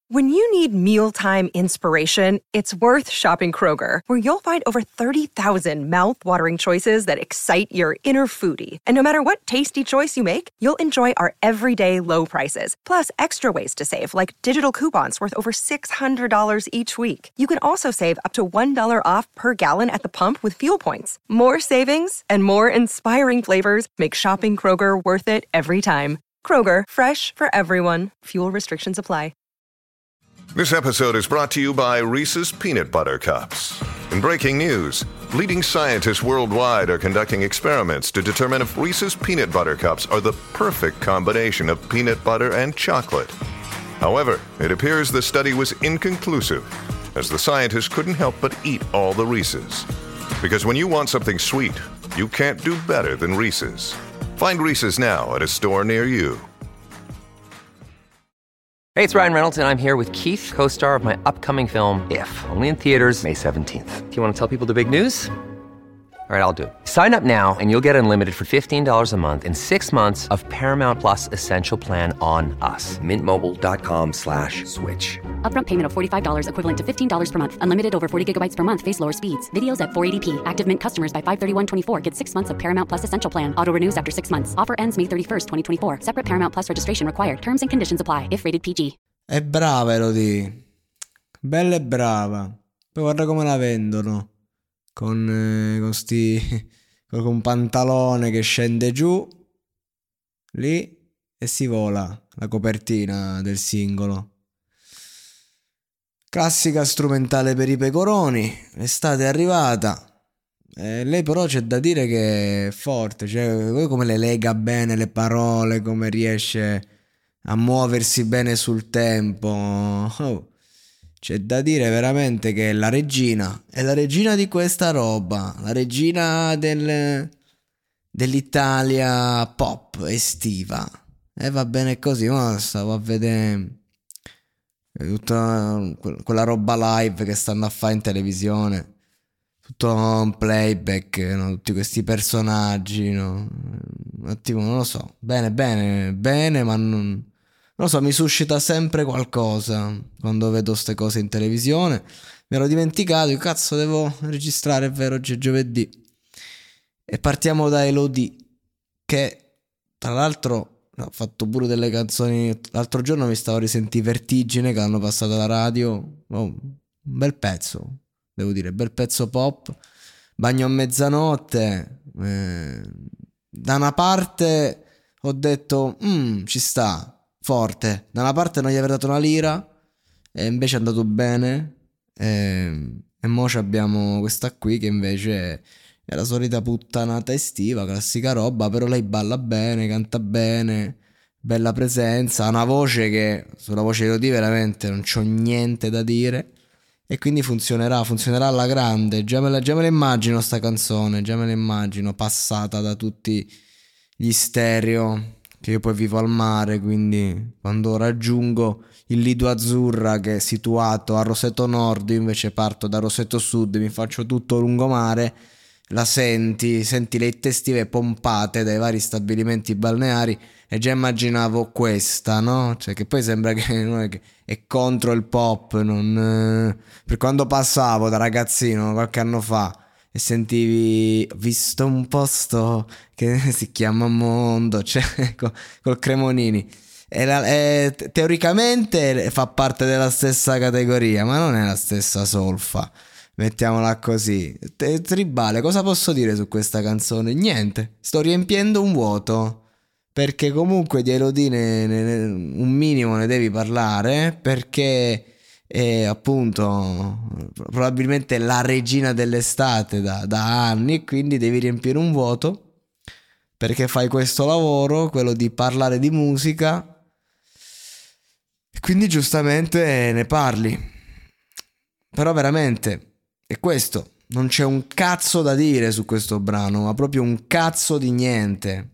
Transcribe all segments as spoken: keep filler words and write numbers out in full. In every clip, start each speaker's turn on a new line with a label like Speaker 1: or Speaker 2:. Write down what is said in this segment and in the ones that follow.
Speaker 1: When you need mealtime inspiration, it's worth shopping Kroger, where you'll find over thirty thousand mouth-watering choices that excite your inner foodie. And no matter what tasty choice you make, you'll enjoy our everyday low prices, plus extra ways to save, like digital coupons worth over six hundred dollars each week. You can also save up to one dollar off per gallon at the pump with fuel points. More savings and more inspiring flavors make shopping Kroger worth it every time. Kroger, fresh for everyone. Fuel restrictions apply.
Speaker 2: This episode is brought to you by Reese's Peanut Butter Cups. In breaking news, leading scientists worldwide are conducting experiments to determine if Reese's Peanut Butter Cups are the perfect combination of peanut butter and chocolate. However, it appears the study was inconclusive, as the scientists couldn't help but eat all the Reese's. Because when you want something sweet, you can't do better than Reese's. Find Reese's now at a store near you.
Speaker 3: Hey, it's Ryan Reynolds, and I'm here with Keith, co-star of my upcoming film, If, only in theaters May seventeenth. Do you want to tell people the big news? All right, I'll do it. Sign up now and you'll get unlimited for fifteen dollars a month and six months of Paramount Plus Essential Plan on us. Mint Mobile dot com slash switch.
Speaker 4: Upfront payment of forty-five dollars equivalent to fifteen dollars per month. Unlimited over forty gigabytes per month. Face lower speeds. Videos at four eighty p. Active Mint customers by five thirty-one twenty-four get six months of Paramount Plus Essential Plan. Auto renews after six months. Offer ends May thirty-first, twenty twenty-four. Separate Paramount Plus registration required. Terms and conditions apply if rated P G.
Speaker 5: È brava Elodie. Bella e brava. Poi guarda come la vendono. Con, eh, con sti... con un pantalone che scende giù lì e si vola la copertina del singolo. Classica strumentale per i pecoroni. L'estate è arrivata e lei però c'è da dire che è forte, cioè come le lega bene le parole, come riesce a muoversi bene sul tempo. Oh, c'è da dire veramente che è la regina, è la regina di questa roba, la regina del, dell'Italia pop estiva. E va bene così, ma stavo a vedere tutta quella roba live che stanno a fare in televisione, tutto un playback, no? Tutti questi personaggi, no? Un attimo, non lo so, bene, bene, bene, ma non... Non lo so, mi suscita sempre qualcosa quando vedo ste cose in televisione. Mi ero dimenticato, io cazzo devo registrare, è vero, oggi è giovedì. E partiamo da Elodie, che tra l'altro ho fatto pure delle canzoni. L'altro giorno mi stavo a risentire Vertigine, che l'hanno passata alla radio. Oh, un bel pezzo, devo dire, bel pezzo pop. Bagno a mezzanotte. Eh, da una parte ho detto, mm, ci sta. Forte, da una parte non gli avrei dato una lira e invece è andato bene e, e mo abbiamo questa qui che invece è la solita puttanata estiva, classica roba, però lei balla bene, canta bene, bella presenza, ha una voce che sulla voce di Elodie veramente non c'ho niente da dire e quindi funzionerà, funzionerà alla grande. Già me la, già me la immagino sta canzone, già me la immagino passata da tutti gli stereo, che io poi vivo al mare, quindi quando raggiungo il Lido Azzurra, che è situato a Roseto Nord, io invece parto da Roseto Sud, mi faccio tutto lungomare, la senti, senti le hit estive pompate dai vari stabilimenti balneari e già immaginavo questa, no? Cioè che poi sembra che, non è, che è contro il pop, non... per quando passavo da ragazzino qualche anno fa e sentivi, ho visto un posto che si chiama Mondo, cioè col, col Cremonini e la, e, teoricamente fa parte della stessa categoria, ma non è la stessa solfa, mettiamola così. Te, tribale, cosa posso dire su questa canzone? Niente, sto riempiendo un vuoto, perché comunque di Elodie ne, ne, un minimo ne devi parlare, perché è appunto probabilmente la regina dell'estate da, da anni e quindi devi riempire un vuoto, perché fai questo lavoro, quello di parlare di musica, e quindi giustamente ne parli. Però veramente è questo, non c'è un cazzo da dire su questo brano, ma proprio un cazzo di niente.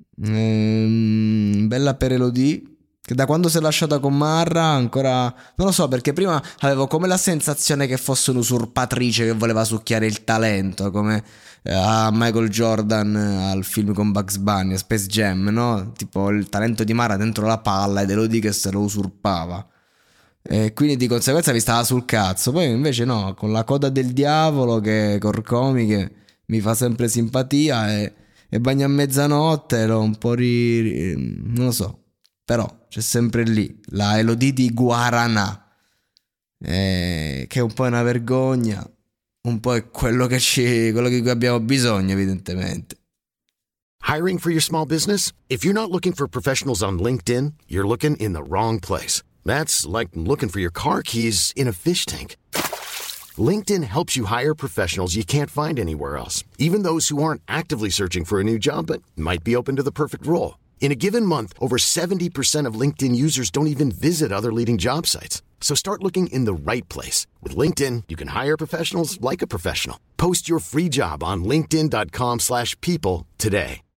Speaker 5: Ehm, bella per Elodie, che da quando si è lasciata con Marra ancora non lo so, perché prima avevo come la sensazione che fosse un'usurpatrice che voleva succhiare il talento, come eh, a Michael Jordan eh, al film con Bugs Bunny, Space Jam, no? Tipo il talento di Marra dentro la palla ed Elodie che se lo usurpava. e quindi di conseguenza mi stava sul cazzo. Poi invece no, con La coda del diavolo, che Corcomi, che mi fa sempre simpatia, e, e Bagno a mezzanotte l'ho un po' ri, ri, non lo so, però c'è sempre lì la Elodie di Guaranà, eh, che è un po' una vergogna, un po' è quello che ci, quello di cui abbiamo bisogno, evidentemente.
Speaker 6: Hiring for your small business? If you're not looking for professionals on LinkedIn, you're looking in the wrong place. That's like looking for your car keys in a fish tank. LinkedIn helps you hire professionals you can't find anywhere else, even those who aren't actively searching for a new job but might be open to the perfect role. In a given month, over seventy percent of LinkedIn users don't even visit other leading job sites. So start looking in the right place. With LinkedIn, you can hire professionals like a professional. Post your free job on linkedin dot com slash people today.